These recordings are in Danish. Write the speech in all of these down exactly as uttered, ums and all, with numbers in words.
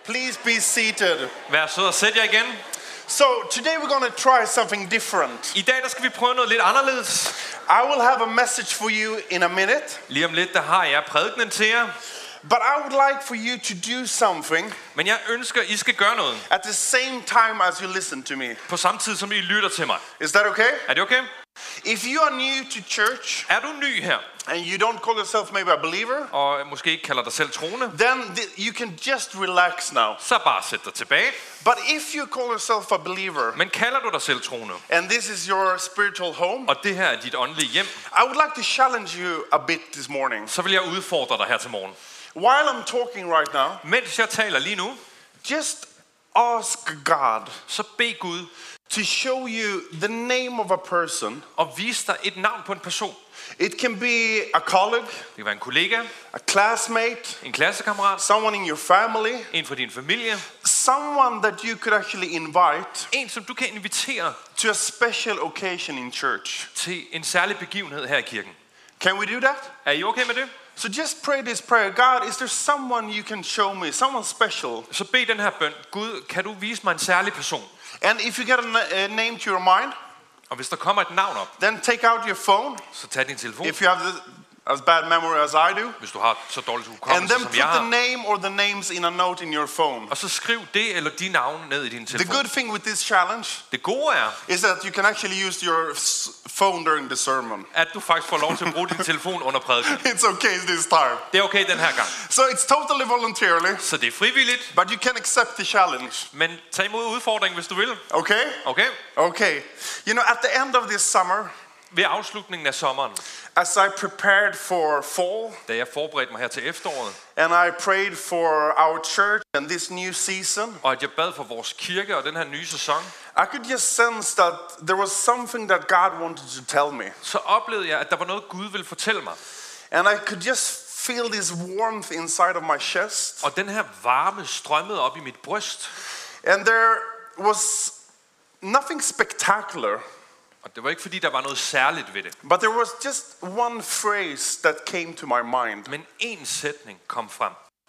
Please be seated. Vær sød og sæt jer igen. So today we're going to try something different. I dag der skal vi prøve noget lidt anderledes. I will have a message for you in a minute. Lige om lidt der har jeg prædikenen til jer. But I would like for you to do something Men jeg ønsker I skal gøre noget at the same time as you listen to me. på samme tid som I lytter til mig. Is that okay? Er det okay? If you are new to church Er du ny her and you don't call yourself maybe a believer, og måske ikke kalder dig selv troende, then th- you can just relax now. så bare sæt dig tilbage. But if you call yourself a believer Men kalder du dig selv troende, and this is your spiritual home, og det her er dit åndelige hjem, I would like to challenge you a bit this morning. så vil jeg udfordre dig her til morgen. While I'm talking right now, Mens jeg taler lige nu, just ask God så bed Gud to show you the name of a person. og vise dig et navn på en person. It can be a colleague, Det kan være en kollega, a classmate, en klassekammerat, someone in your family, en fra din familie, someone that you could actually invite en som du kan invitere to a special occasion in church. til en særlig begivenhed her i kirken. Can we do that? Er I okay med det? So just pray this prayer. God, is there someone you can show me, someone special? Så bed den her bøn. Gud, kan du vise mig en særlig person? And if you get a, na- a name to your mind, Og hvis der kommer et navn op, then take out your phone, så tag din telefon, if you have the, as bad memory as I do, hvis du har så dårligt and hukommelse, then som put jeg the har. name or the names in a note in your phone. Og så skriv det eller de navne ned i din The telefon. good thing with this challenge Det gode er, is that you can actually use your s- phone during the sermon. at du faktisk får lov til at bruge din telefon under prædiken. It's okay this time. Det er okay den her gang. So it's totally voluntarily, Så det er frivilligt, but you can accept the challenge. men tag imod udfordringen, hvis du vil. Okay? Okay? Okay. You know, at the end of this summer, Ved afslutningen af sommeren, as I prepared for fall, da jeg forberedte mig her til efteråret, and I prayed for our church and this new season, og at jeg bad for vores kirke og den her nye sæson, I could just sense that there was something that God wanted to tell me. så oplevede jeg, at der var noget, Gud ville fortælle mig. And I could just feel this warmth inside of my chest. Og den her varme strømmede op i mit bryst. And there was nothing spectacular, Og det var ikke fordi, der var noget særligt ved det. but there was just one phrase that came to my mind. Men en sætning kom frem.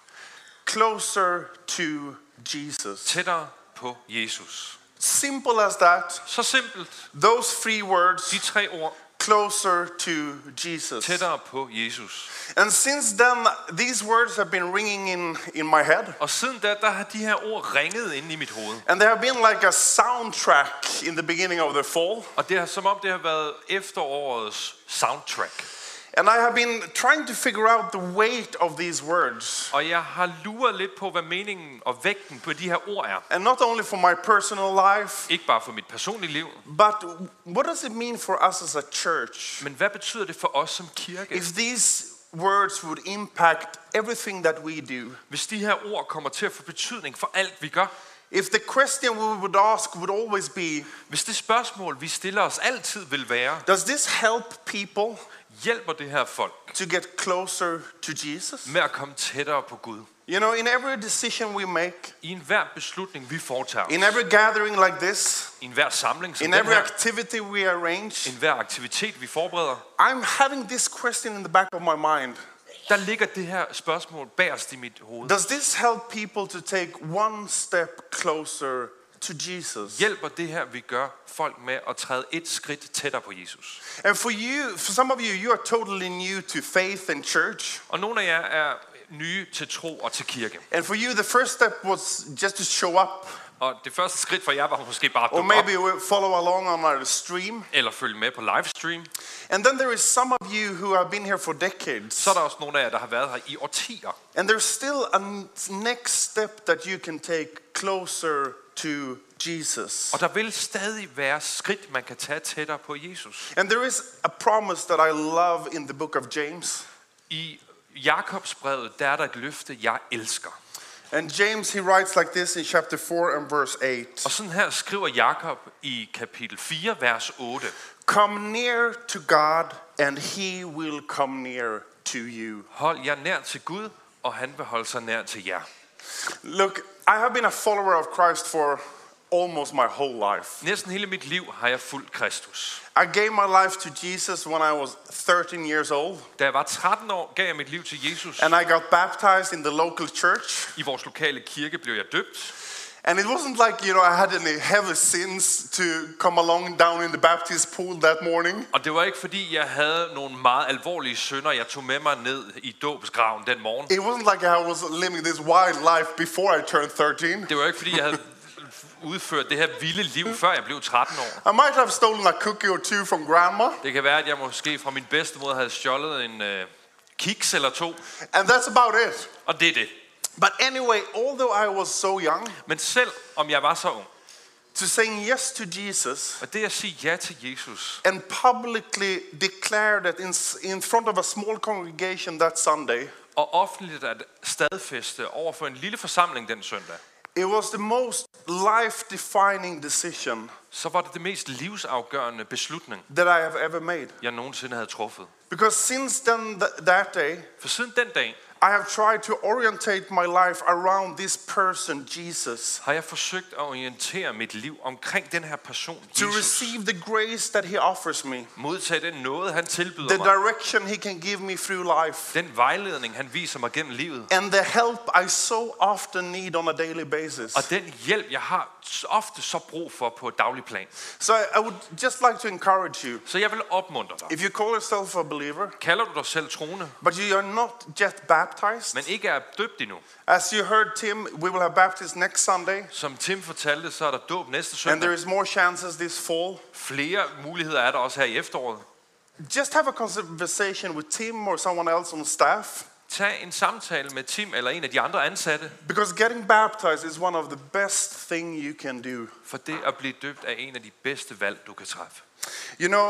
Closer to Jesus. Tættere på Jesus. Simple as that. Så simpelt. Those three words, De tre ord. closer to Jesus. Tættere på Jesus. And since then, these words have been ringing in, in my head. Og siden da, der har de her ord ringet ind i mit hoved. And they have been like a soundtrack in the beginning of the fall. Og det er som om, det har været efterårets soundtrack. And I have been trying to figure out the weight of these words. Og jeg har luret lidt på, hvad meningen og vægten på de her ord er. And not only for my personal life, Ikke bare for mit personlige liv, but what does it mean for us as a church? men hvad betyder det for os som kirke? If these words would impact everything that we do. Hvis de her ord kommer til at få betydning for alt, vi gør. If the question we would ask would always be, Hvis det spørgsmål, vi stiller os altid vil være, does this help people hjælper det her folk to get closer to Jesus? med at komme tættere på Gud? You know, in every decision we make, I enhver beslutning, vi foretager in os, every gathering like this, i enhver samling som in den every her, activity we arrange, i enhver aktivitet, vi forbereder, I'm having this question in the back of my mind. der ligger det her spørgsmål bagerst i mit hoved. Does this help people to take one step closer to Jesus? Hjælper det her, vi gør, folk med at træde et skridt tættere på Jesus? And for you, for some of you, you are totally new to faith and church. Og nogle af jer er nye til tro og til kirke. And for you, the first step was just to show up, Og det første skridt for jer var måske bare at or dukke op, maybe we follow along on our stream. eller følge med på livestream. And then there is some of you who have been here for decades. Så er der også nogle af jer, der har været her i årtier. And there's still a n- next step that you can take closer to Jesus. Og der vil stadig være skridt, man kan tage tættere på Jesus. And there is a promise that I love in the book of James. I Jakobsbrevet, der er der et løfte, jeg elsker. And James, he writes like this in chapter four and verse eight. Og sådan her skriver Jakob i kapitel fire, vers otte. Come near to God, and he will come near to you. Hold jer nær til Gud, og han vil holde sig nær til jer. Look, I have been a follower of Christ for almost my whole life. Næsten hele mit liv har jeg fulgt Kristus. I gave my life to Jesus when I was thirteen years old. Da jeg var tretten år, gav jeg mit liv til Jesus. And I got baptized in the local church. I vores lokale kirke blev jeg døbt. And it wasn't like, you know, I had any heavy sins to come along down in the baptist pool that morning. Og det var ikke fordi jeg havde nogle meget alvorlige synder, jeg tog med mig ned i dåbsgraven den morgen. It wasn't like I was living this wild life before I turned thirteen. Det var ikke fordi jeg havde udført det her vilde liv før jeg blev tretten år. I might have stolen a cookie or two from grandma. Det kan være at jeg måske fra min bedstemor havde stjålet en øh, kiks eller to. And that's about it. Og det er det. But anyway, although I was so young, Men selv om jeg var så ung, to saying yes to Jesus og det at sige ja til Jesus, and publicly declare that in, in front of a small congregation that Sunday, og offentligt at stadfæste over for en lille forsamling den søndag, it was the most life-defining decision så var det det mest livsafgørende beslutning, that I have ever made. jeg nogensinde havde truffet. Because since then, th- that day, For siden den dag I have tried to orientate my life around this person, Jesus, har jeg forsøgt at orientere mit liv omkring den her person, to Jesus. receive the grace that he offers me, Modtage den nåde, han tilbyder the mig. direction he can give me through life, Den vejledning, han viser mig gennem livet. and the help I so often need on a daily basis. Og den hjælp, jeg har ofte så brug for på et dagligt plan. So I, I would just like to encourage you. Så jeg vil opmuntre dig. If you call yourself a believer, Kalder du dig selv troende, but you are not yet baptized, men ikke er døbt endnu. as you heard Tim, we will have baptism next Sunday, Som Tim fortalte, så er der dåb næste and there søndag. is more chances this fall. Flere muligheder er der også her i efteråret. Just have a conversation with Tim or someone else on staff, Tag en samtale med Tim eller en af de andre ansatte, because getting baptized is one of the best thing you can do. for det at blive døbt er en af de bedste valg, du kan træffe. You know,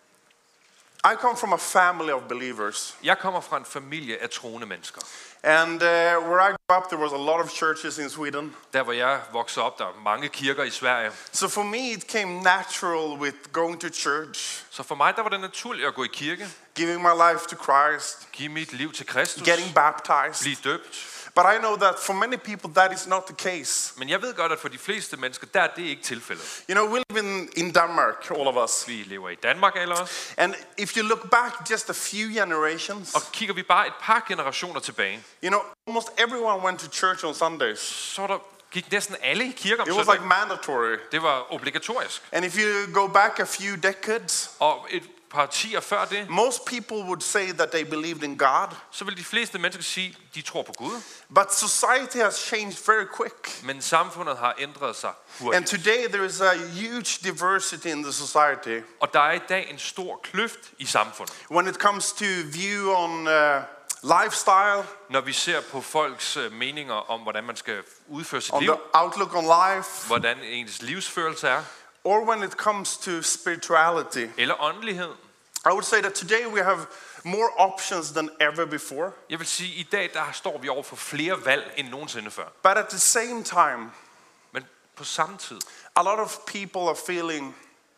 I come from a family of believers. Jeg kommer fra en familie af troende mennesker. And uh, where I grew up, there was a lot of churches in Sweden. Der hvor jeg voksede op, der er mange kirker i Sverige. So for me, it came natural with going to church, Så for mig der var det naturligt at gå i kirke, giving my life to Christ, give mit liv til Kristus, getting baptized. blive døbt. But I know that for many people, that is not the case. Men jeg ved godt, at for de fleste mennesker, der er det ikke tilfældet. You know, we live in, in Denmark, all of us. Vi lever i Danmark eller And if you look back just a few generations, og kigger vi bare et par generationer tilbage, you know, almost everyone went to church on Sundays. så var der, gik næsten alle i kirke om It was like søndagen. mandatory. Det var obligatorisk. And if you go back a few decades, Og et par årtier før det, most people would say that they believed in God. så vil de fleste mennesker sige, at de tror på Gud. But society has changed very quick. Men samfundet har ændret sig And hurtigt. today there is a huge diversity in the society Og der er i dag en stor kløft i samfundet. when it comes to view on uh, lifestyle, Når vi ser på folks øh, meninger om, hvordan man skal udføre sit on liv, the outlook on life, hvordan ens livsførelse er, or when it comes to spirituality. eller åndelighed. I would say that today we have more options than ever before. Jeg vil sige, at i dag der står vi over for flere valg end nogensinde før. But at the same time, Men på samme tid, a lot of people are feeling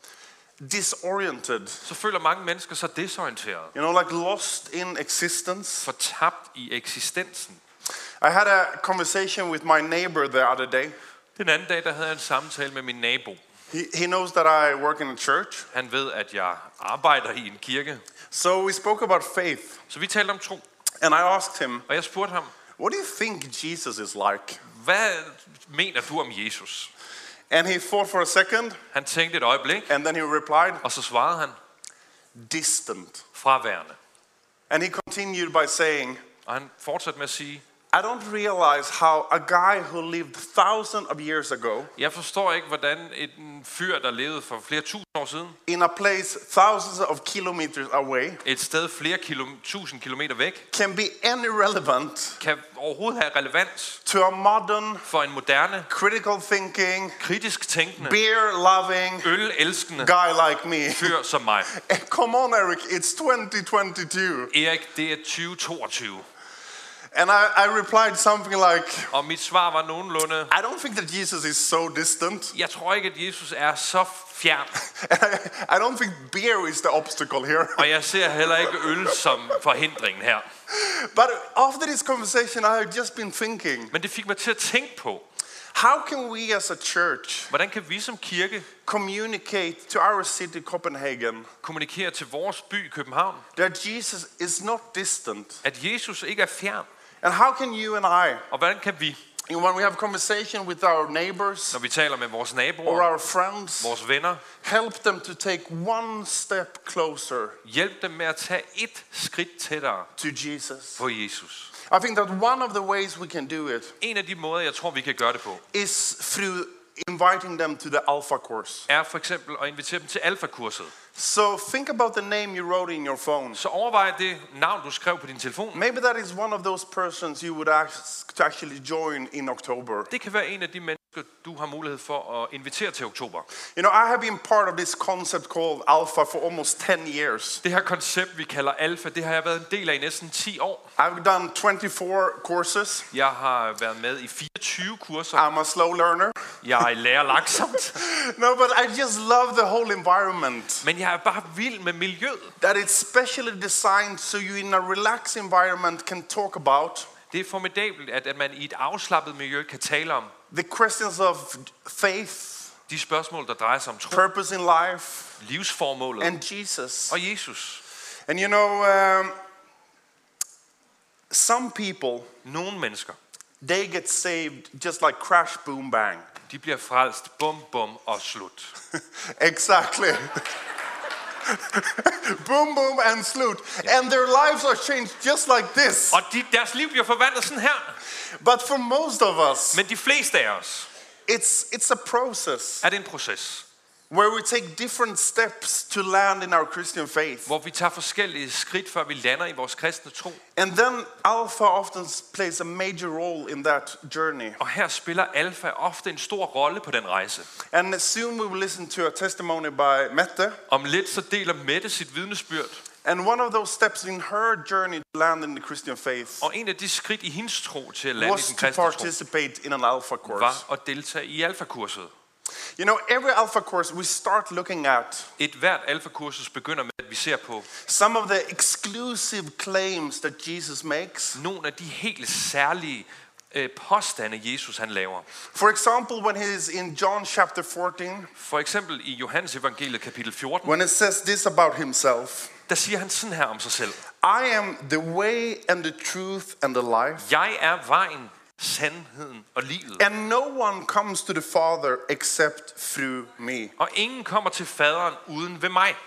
disoriented, så føler mange mennesker sig desorienteret, you know, like lost in existence. fortabt i eksistensen. I had a conversation with my neighbor the other day. Den anden dag, der havde jeg en samtale med min nabo. He, he knows that I work in a church. Han ved, at jeg arbejder i en kirke. So we spoke about faith. Så vi talte om tro, And I asked him, og jeg spurgte ham, what do you think Jesus is like? hvad mener du om Jesus? And he thought for a second, Han tænkte et øjeblik, and then he replied, og så svarede han, distant. fraværende. And he continued by saying, Og han fortsatte med at sige, I don't realize how a guy who lived thousands of years ago jeg forstår ikke, hvordan en fyr, der levede for flere tusind år siden, in a place thousands of kilometers away et sted flere kilo, tusind kilometer væk, can be any relevant kan overhovedet have relevans to a modern, for en moderne, critical thinking, kritisk tænkende, beer-loving øl-elskende guy like me. fyr som mig. Come on, Eric, it's twenty twenty-two. Erik, det er tyve toogtyve. And I, I replied something like, Og mit svar var nogenlunde, I don't think that Jesus is so distant. jeg tror ikke, at Jesus er så fjern. I don't think beer is the obstacle here. Og jeg ser heller ikke øl som forhindringen her. But after this conversation, I have just been thinking, Men det fik mig til at tænke på, How can we as a church Hvordan kan vi som kirke communicate to our city, Copenhagen, kommunikere til vores by København, that Jesus is not distant? at Jesus ikke er fjern? And how can you and I, Og hvordan kan vi, when we have conversation with our neighbors når vi taler med vores or naboer, our friends, vores venner, help them to take one step closer hjælpe dem med at tage et skridt tættere to Jesus? på Jesus? I think that one of the ways we can do it En af de måder, jeg tror, vi kan gøre det på, is through inviting them to the Alpha course. er for eksempel at invitere dem til alfakurset. So think about the name you wrote in your phone. Så overvej det navn, du skrev på din telefon. Maybe that is one of those persons you would ask to actually join in October. Det kan være en af de mennesker, du har mulighed for at invitere til oktober. You know, I have been part of this concept called Alpha for almost ten years. Det her koncept, vi kalder alfa, det har jeg været en del af i næsten ti år. I've done twenty-four courses. Jeg har været med i fireogtyve kurser. I'm a slow learner. Jeg lærer langsomt. No, but I just love the whole environment. Men jeg er bare vild med miljøet. That it's specially designed so you in a relaxed environment can talk about Det er formidabelt, at, at man i et afslappet miljø kan tale om the questions of faith, de spørgsmål, der drejer sig om tro, purpose in life, livsformålet and Jesus. og Jesus. And you know, um, some people, Nogle mennesker, they get saved just like crash, boom, bang. de bliver frelst, bum, bum og slut. Exactly. Boom, boom, and slut. And their lives are changed just like this. Og de, deres liv bliver forvandlet sådan her. But for most of us, Men de fleste af os, it's, it's a process er det en proces, where we take different steps to land in our Christian faith. hvor vi tager forskellige skridt, før vi lander i vores kristne tro. And then Alpha often plays a major role in that journey. Og her spiller alfa ofte en stor rolle på den rejse. And soon we will listen to a testimony by Mette. Om lidt så deler Mette sit vidnesbyrd. And one of those steps in her journey to land in the Christian faith Og en af de skridt i hendes tro til at lande i was den to kristne tro, participate in an Alpha course. var at deltage i alfakurset. You know, every Alpha course we start looking at Et hvert alfakursus begynder med, at vi ser på some of the exclusive claims that Jesus makes. nogle af de helt særlige øh, påstande, Jesus han laver. For example, when he is in John chapter fourteen, For eksempel i Johannes evangeliet kapitel fjorten, when it says this about himself, der siger han sådan her om sig selv. I am the way and the truth and the life, Jeg er vejen, sandheden og livet. and no one comes to the Father except through me. Og ingen kommer til faderen uden ved mig.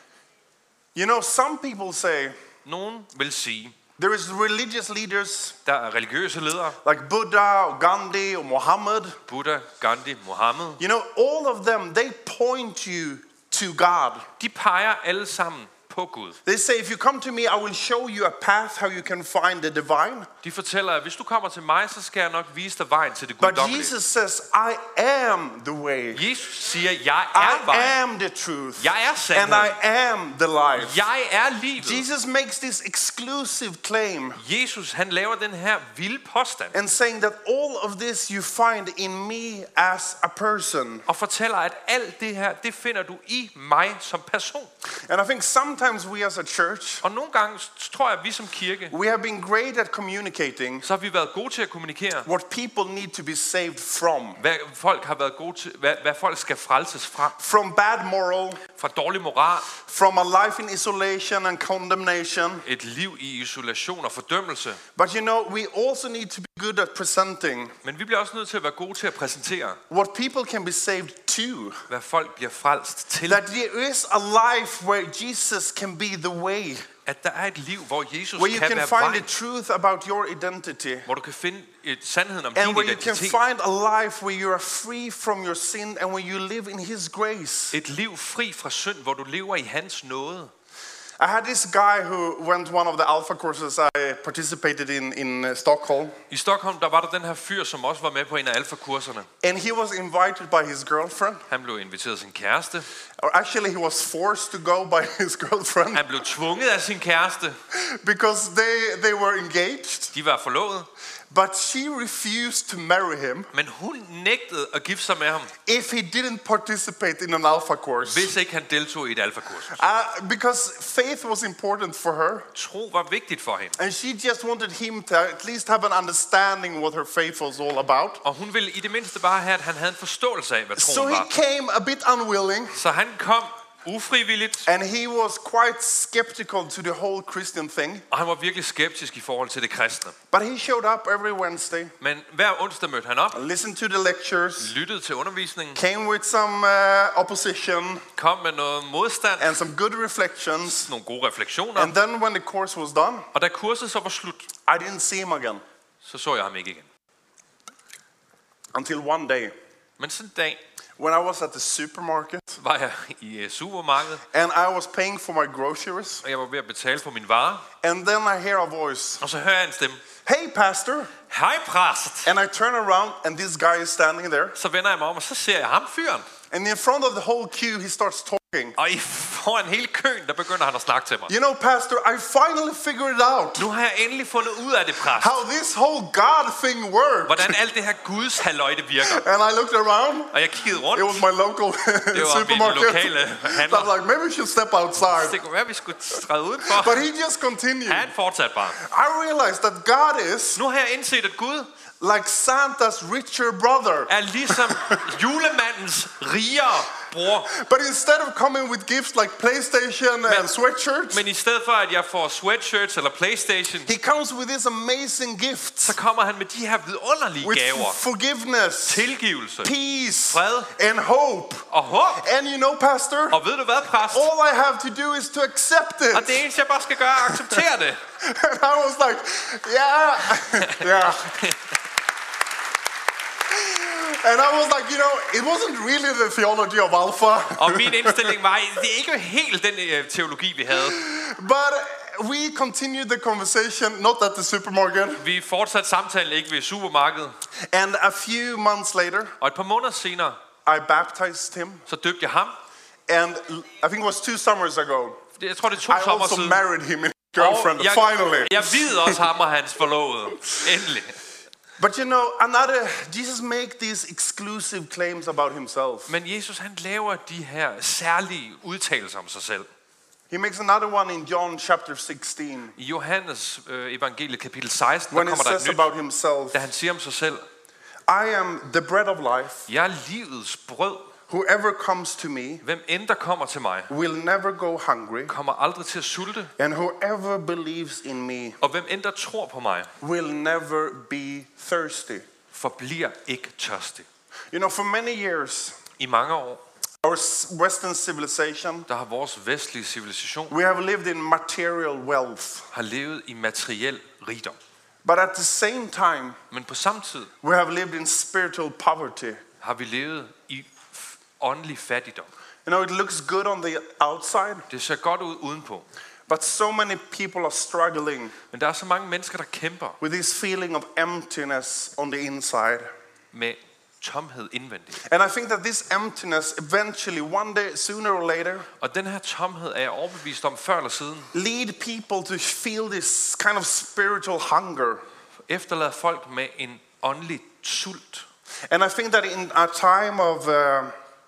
You know, some people say Nogen vil sige, there is religious leaders der er religiøse ledere, like Buddha or Gandhi or Muhammad. Buddha, Gandhi, Mohammed. You know, all of them, they point you to God. De peger alle sammen på Gud. They say, if you come to me, I will show you a path how you can find the divine. De fortæller, at hvis du kommer til mig, så skal jeg nok vise dig vejen til det But guddommelige. Jesus says, I am the way. Jesus siger, jeg er I vejen. am the truth. Jeg er And sandheden. I am the life. Jeg er livet. Jesus makes this exclusive claim Jesus, han laver den her vilde påstand. and saying that all of this you find in me as a person. Og fortæller, at alt det her, det finder du i mig som person. And I think sometimes we as a church, Og nogle gange tror jeg, at vi som kirke, we have been great at communicating så har vi været gode til at kommunikere, what people need to be saved from. hvad folk har været gode til, hvad, hvad folk skal frelses fra. From bad moral, Fra dårlig moral, from a life in isolation and condemnation. et liv i isolation og fordømmelse. But you know, we also need to be good at presenting Men vi bliver også nødt til at være gode til at præsentere, what people can be saved to. hvad folk bliver frelst til. That there is a life where Jesus can be the way. At der er et liv, hvor Jesus Where you kan can være find vejen. the truth about your identity. Hvor du kan finde et sandheden om And din where you can identitet. find a life where you are free from your sin and where you live in His grace. Et liv fri fra synd, hvor du lever i hans nåde. I had this guy who went one of the Alpha courses I participated in in uh, Stockholm. I Stockholm, der var der den her fyr, som også var med på en af alfakurserne. And he was invited by his girlfriend. Han blev inviteret af sin kæreste. Or actually, he was forced to go by his girlfriend Han blev tvunget af sin kæreste. because they, they were engaged. De var forlovet. But she refused to marry him Men hun nægtede at gifte sig med ham, if he didn't participate in an alpha course. hvis ikke han deltog i et alfakursus. Uh, because faith was important for her. Tro var vigtigt for hende. And she just wanted him to at least have an understanding what her faith was all about. Og hun ville i det mindste bare have, at han havde en forståelse af, hvad So troen he var. came a bit unwilling, Så han kom ufrivilligt, and he was quite skeptical to the whole Christian thing. og han var virkelig skeptisk i forhold til det kristne. But he showed up every Wednesday, Men hver onsdag mødte han op, listened to the lectures, lyttede til undervisningen, came with some uh, opposition kom med noget modstand, and some good reflections. nogle gode refleksioner, And then when the course was done, og da kurset så var slut, I didn't see him again så så jeg ham ikke igen. until one day Men sådan en dag when I was at the supermarket var jeg i øh, supermarkedet, and I was paying for my groceries. og jeg var ved at betale for min vare, And then I hear a voice. og så hører jeg en stemme. Hey, pastor. Hej præst! And I turn around and this guy is standing there. Så vender jeg mig om, og så ser jeg ham fyren. And in front of the whole queue, he starts talking. Og i foran hele køen, der begynder han at snakke til mig. You know, pastor, I finally figured it out. Nu har jeg endelig fundet ud af det, præst. How this whole God thing works. Hvordan alt det her Guds halløj, det virker. And I looked around. Og jeg kiggede rundt. It was my local Det var min supermarket. lokale So handler. I was like, maybe we should step outside. Det kunne være, vi skulle træde udenfor. But he just continued. Han fortsatte bare. I realized that God is Nu har jeg indset, at Gud like Santa's richer brother. er ligesom julemandens rigere bror. But instead of coming with gifts like PlayStation and sweatshirts, Men i stedet for, at jeg får sweatshirts eller Playstation, he comes with these amazing gifts. så kommer han med de her vidunderlige With gaver. forgiveness, Tilgivelse peace, Fred. and hope. og håb. And you know, pastor, Og ved du hvad, præst? all I have to do is to accept it. Og det eneste, jeg bare skal gøre, er at acceptere det. And I was like, yeah, yeah. And I was like, you know, it wasn't really the theology of Alpha, Og min indstilling var, det er ikke helt den øh, teologi, vi havde. but we continued the conversation, not at the supermarket. Vi fortsatte samtalen ikke ved supermarkedet. And a few months later, Og et par måneder senere, I baptized him. så døbte jeg ham. And I think it was two summers ago, Jeg tror, det er to I sommer also siden. married him and his girlfriend, Og jeg, finally. jeg viede også ham og hans forlovede. Endelig. But you know, another, Jesus make these exclusive claims about himself. Men Jesus, han laver de her særlige udtalelser om sig selv. He makes another one in John chapter sixteen, I Johannes øh, evangeliet kapitel seksten, der when he kommer der et says nyt, about himself, da han siger om sig selv, I am the bread of life. jeg er livets brød. Whoever comes to me Hvem end der kommer til mig, will never go hungry, kommer aldrig til at sulte. and whoever believes in me Og hvem end der tror på mig, will never be thirsty. forbliver ikke tørstig. You know, for many years, I mange år, our s- Western civilization, der har vores vestlige civilisation we have lived in material wealth. har levet i materiel rigdom. But at the same time, Men på samme tid we have lived in spiritual poverty. har vi levet i f- åndelig fattigdom. You know, it looks good on the outside, Det ser godt ud udenpå. but so many people are struggling Men der er så mange mennesker, der kæmper with this feeling of emptiness on the inside. med tomhed indvendigt. And I think that this emptiness eventually, one day, sooner or later, Og den her tomhed er jeg overbevist om før eller siden, lead people to feel this kind of spiritual hunger. efterlader folk med en åndelig sult. And I think that in a time of uh,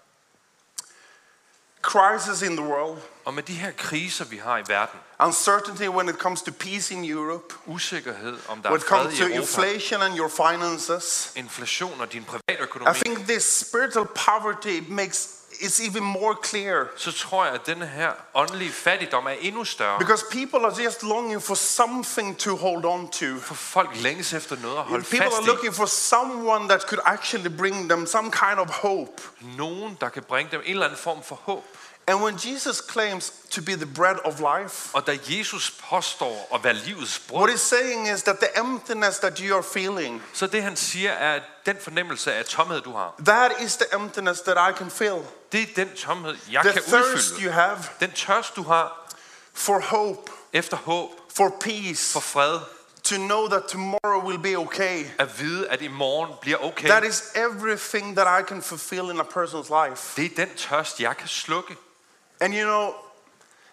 crisis in the world, Og med de her kriser, vi har i verden, uncertainty when it comes to peace in Europe, usikkerhed om der when er it fred comes i to Europa, inflation and your finances, inflation og din I privatøkonomi, think this spiritual poverty makes it's even more clear. så tror jeg, at denne her åndelige fattigdom er endnu større. Because people are just longing for something to hold on to. For folk længes efter noget at holde People fast are i. looking for someone that could actually bring them some kind of hope. Nogen, der kan bringe dem en eller anden form for håb. And when Jesus claims to be the bread of life, Og da Jesus påstår at være livets brød, what he's saying is that the emptiness that you are feeling, så det han siger er, at den fornemmelse af tomhed, du har, that is the emptiness that I can feel. det er den tomhed, jeg The kan thirst udfylde. you have Den tørst, du har for hope, efter håb, for peace, for fred, to know that tomorrow will be okay. at vide, at i morgen bliver okay. That is everything that I can fulfill in a person's life. Det er den tørst, jeg kan slukke. And you know,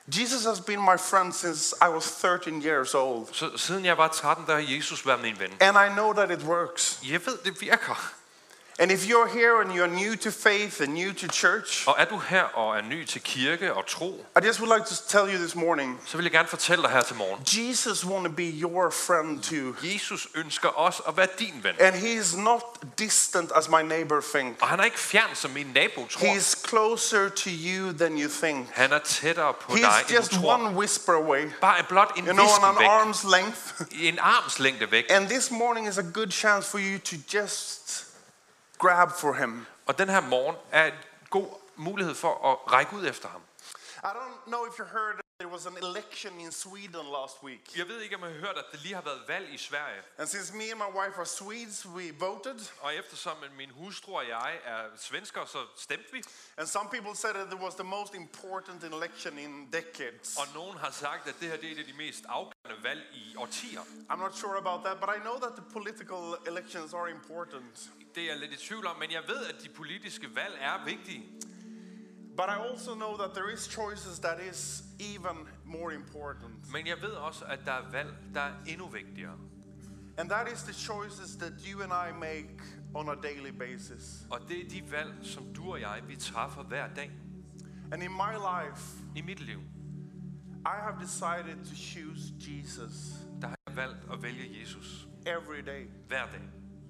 Jesus has been my friend since I was thirteen years old. Så siden jeg var tretten, der har Jesus været min ven. And I know that it works. Jeg ved, det virker. And if you're here and you're new to faith and new to church, Og er du her og er ny til kirke og tro, I just would like to tell you this morning, så vil jeg gerne fortælle dig her til morgen. Jesus want to be your friend too. Jesus ønsker også at være din ven. And he is not distant as my neighbor think. Og han er ikke fjern, som min nabo tror. He is closer to you than you think. Han er tættere på He dig, is end just du tror. one whisper away. Bare blot en You know, on visken an væk. arm's length. En armslængde væk. And this morning is a good chance for you to just grab for him. Og den her morgen er en god mulighed for at række ud efter ham. I don't know if you heard there was an election in Sweden last week. Jeg ved ikke, om I har hørt, at der lige har været valg i Sverige. And since me and my wife are Swedes, we voted. Og eftersom min hustru og jeg er svensker, så stemte vi. And some people said that it was the most important election in decades. Og nogen har sagt, at det her det er et af de mest afgørende valg i årtier. I'm not sure about that, but I know that the political elections are important. Det er jeg lidt i tvivl om, men jeg ved, at de politiske valg er vigtige. But I also know that there is choices that is even more important. Men jeg ved også, at der er valg, der er endnu vigtigere. And that is the choices that you and I make on a daily basis. Og det er de valg, som du og jeg, vi træffer hver dag. And in my life, I mit liv, I have decided to choose Jesus der har jeg valgt at vælge Jesus every day. hver dag.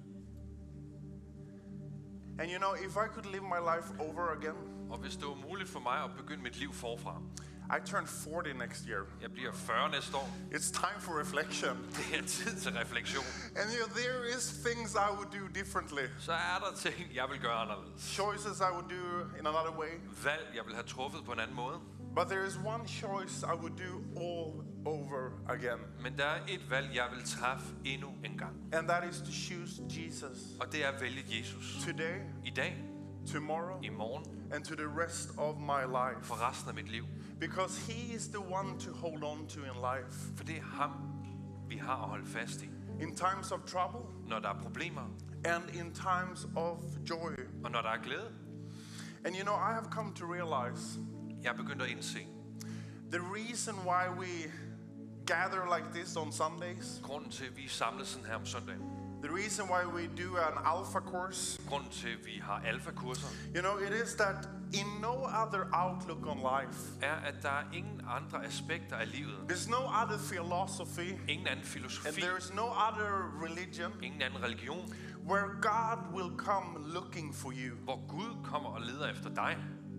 And you know, if I could live my life over again, Og hvis det var muligt for mig at begynde mit liv forfra, I turn forty next year. jeg bliver fyrre næste år, It's time for reflection. det er tid til refleksion, And you know, there is things I would do differently. så er der ting, jeg vil gøre anderledes. Choices I would do in another way. Valg, jeg vil have truffet på en anden måde. But there is one choice I would do all over again. Men der er et valg, jeg vil træffe endnu en gang. And that is to choose Jesus Og det er at vælge Jesus. today, I dag, tomorrow, i morgen, and to the rest of my life. for resten af mit liv. Because he is the one to hold on to in life. For det er ham, vi har at holde fast i. In times of trouble Når der er problemer, and in times of joy. og når der er glæde. And you know, I have come to realize Jeg er begyndt at indse, the reason why we gather like this on Sundays, grunden til, at vi er samlet sådan her om søndagen, the reason why we do an alpha course, grunden til, at vi har alfa-kurser, you know, it is that in no other outlook on life, er, at der er ingen andre aspekter af livet. there's no other philosophy, Ingen anden and filosofi, there is no other religion ingen anden religion, where God will come looking for you. hvor Gud kommer og leder efter dig.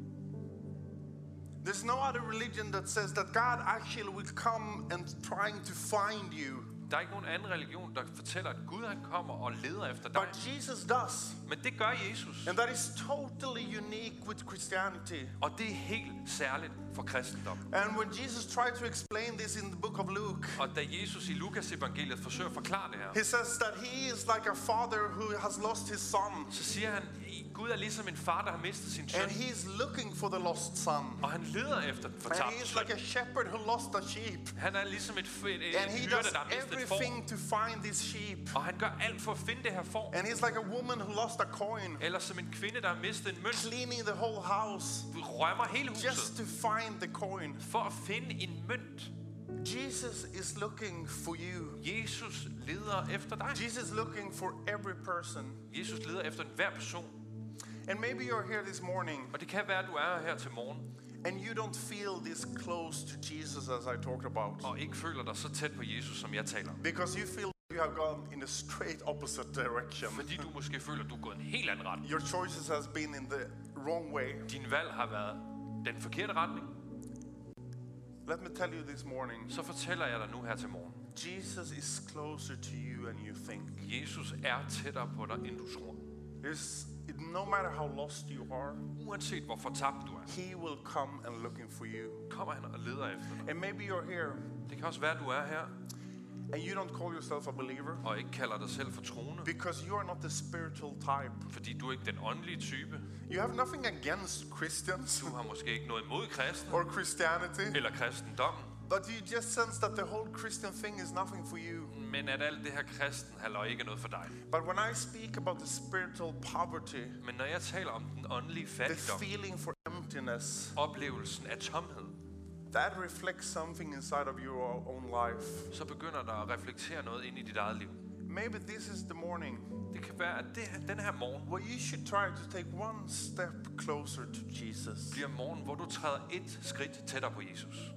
There's no other religion that says that God actually will come and trying to find you. Der er ikke nogen anden religion, der fortæller, at Gud han kommer og leder efter dig. But Jesus does. Men det gør Jesus. And that is totally unique with Christianity. Og det er helt særligt for kristendom. And when Jesus tried to explain this in the book of Luke, Og da Jesus i Lukas evangeliet forsøger at forklare det her, he says that he is like a father who has lost his son. så siger han, Gud er ligesom en far, der har mistet sin søn. And he is looking for the lost son. Og han leder efter den And fortabte he is søn. like a shepherd who lost a sheep. Han er ligesom et, f- et, And et he hyrde, does der har mistet et får. everything to find this sheep. Og han gør alt for at finde det her får. And he's like a woman who lost a coin, Eller som en kvinde, der har mistet en mønt, cleaning the whole house rømmer hele just huset to find the coin. for at finde en mønt. Jesus is looking for you. Jesus leder efter dig. Jesus is looking for every person. Jesus leder efter enhver person. And maybe you're here this morning Og det kan være, at du er her til morgen, and you don't feel this close to Jesus as I talked about. og ikke føler dig så tæt på Jesus, som jeg taler. Because you feel you have gone in a straight opposite direction. Fordi du måske føler, at du er gået en helt anden retning. Your choices has been in the wrong way. Din valg har været den forkerte retning. Let me tell you this morning, Så fortæller jeg dig nu her til morgen. Jesus is closer to you than you think. Jesus er tættere på dig, end du tror. There's, no matter how lost you are, Uanset hvor fortabt du er, he will come and looking for you. kommer han og leder efter dig. And maybe you're here Det kan også være, at du er her, and you don't call yourself a believer og ikke kalder dig selv for troende, because you are not the spiritual type. fordi du er ikke den åndelige type. You have nothing against Christians Du har måske ikke noget imod kristne or Christianity, eller kristendommen, but you just sense that the whole Christian thing is nothing for you. men at alt det her kristen halløj ikke er noget for dig. But when I speak about the spiritual poverty, Men når jeg taler om den åndelige the fattigdom, feeling for emptiness, oplevelsen af tomhed, that reflects something inside of your own life. så begynder der at reflektere noget ind i dit eget liv. Maybe this is the morning Det kan være, at det, den her morgen where you should try to take one step closer to Jesus. bliver morgen, hvor du træder et skridt tættere på Jesus.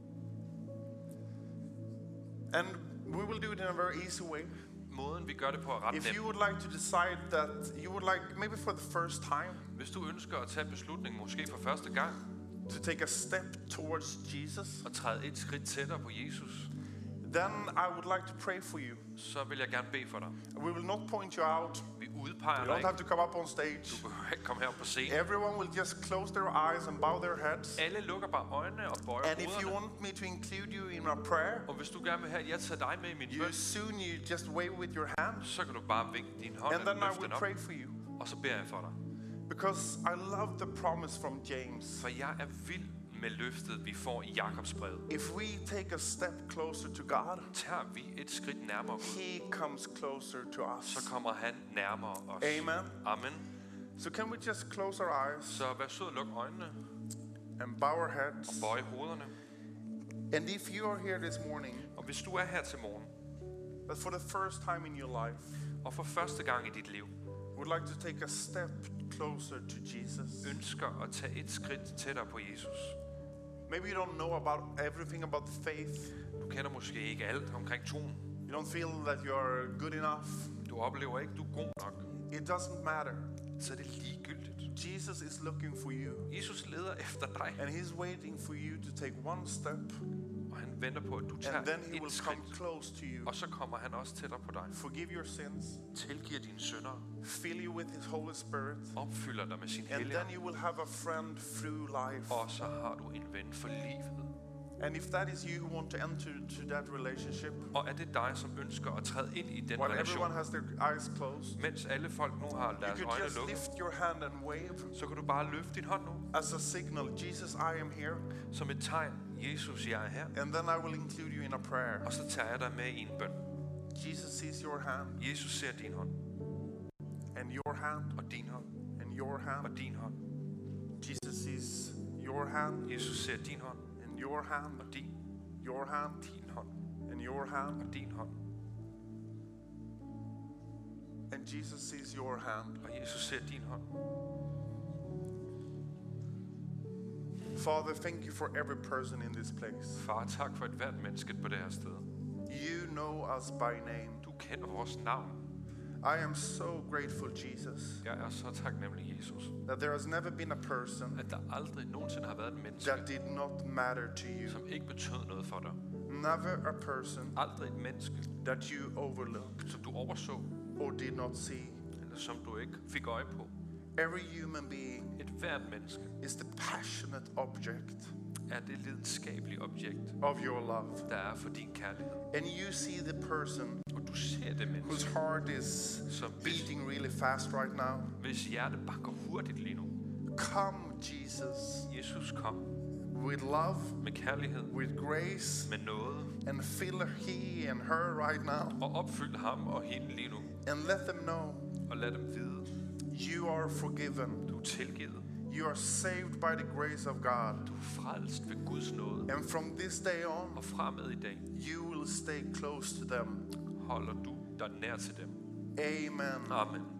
And we will do it in a very easy way. Måden vi gør det på er ret If you nem. would like to decide that you would like, maybe for the first time, Hvis du ønsker at tage beslutningen, måske for første gang, to take a step towards Jesus, og træde et skridt tættere på Jesus, then I would like to pray for you. så vil jeg gerne bede for dig. We will not point you out. Vi udpeger You dig don't ikke. have to come up on stage. Du behøver ikke komme herop på scenen. Everyone will just close their eyes and bow their heads. Alle lukker bare øjnene og bøjer And if you hovederne. want me to include you in a prayer, Og hvis du gerne vil have, at jeg tager dig med i min you bøn, soon you just wave with your hand, så kan du bare vinke din hånd and og then I løfte will den op, pray for you. og så beder jeg for dig. Because I love the promise from James. For jeg er vild med løftet, vi får i Jakobs brev. If we take a step closer to God, Tager vi et skridt nærmere Gud, He comes closer to us. så kommer han nærmere os. Amen. Amen. So can we just close our eyes Så vær sød og luk øjnene and bow our heads? og bøje hovederne. And if you are here this morning, Og hvis du er her til morgen, but for the first time in your life, og for første gang i dit liv, would like to take a step closer to Jesus. ønsker at tage et skridt tættere på Jesus. Maybe you don't know about everything about the faith. Du kender måske ikke alt omkring troen. You don't feel that you're good enough. Du oplever ikke, du er god nok. It doesn't matter. Så er det ligegyldigt. Jesus is looking for you, Jesus leder efter dig, and He's waiting for you to take one step, og han venter på, at du and tager then He will et come skridt. close to you, Og så kommer han også tættere på dig. forgive your sins, Tilgiver dine synder. fill you with His Holy Spirit, Opfylder dig med sin and hellige. then you will have a friend through life. Og så har du en ven for livet. And if that is you who want to enter to that relationship, Og er det dig, som ønsker at træde ind i den while relation, everyone has their eyes closed, mens alle folk nu har you deres could øjne just lukket, lift your hand and wave så kan du bare løfte din hånd nu, as a signal, Jesus, I am here, som et tegn. Jesus, jeg er her. and then I will include you in a prayer. Og så tager jeg dig med i en bøn. Jesus sees your hand, Jesus ser din hånd, and your hand, og din hånd, and your hand. og din hånd. Jesus sees your hand, Jesus ser din hånd, and your hand, og din, your hand, din hånd, and your hand, og din hånd. and Jesus sees your hand. Og Jesus ser din hånd. Father, thank you for every person in this place. Far, tak for et hvert menneske på det her sted. You know us by name. Du kender vores navn. I am so grateful, Jesus, Jeg er så taknemmelig, Jesus, that there has never been a person at der aldrig nogensinde har været et menneske, that did not matter to you. som ikke betød noget for dig. Never a person Aldrig et menneske, that you overlooked som du overså, or did not see. eller som du ikke fik øje på. Every human being Et hvert menneske is the passionate object er det lidenskabelige objekt, of your love. der er for din kærlighed. And you see the person Og du ser det menneske, whose heart is som beating really fast right now. hvis hjerte banker hurtigt lige nu. Come, Jesus, Jesus, kom with love, med kærlighed, with grace, med noget, and fill he and her right now. og opfyld ham og hende lige nu. And let them know Og lad dem vide, you are forgiven. du er tilgivet. You are saved by the grace of God. Du er frelst ved Guds nåde. And from this day on, Og fremad i dag you will stay close to them. holder du dig nær til dem. Amen. Amen.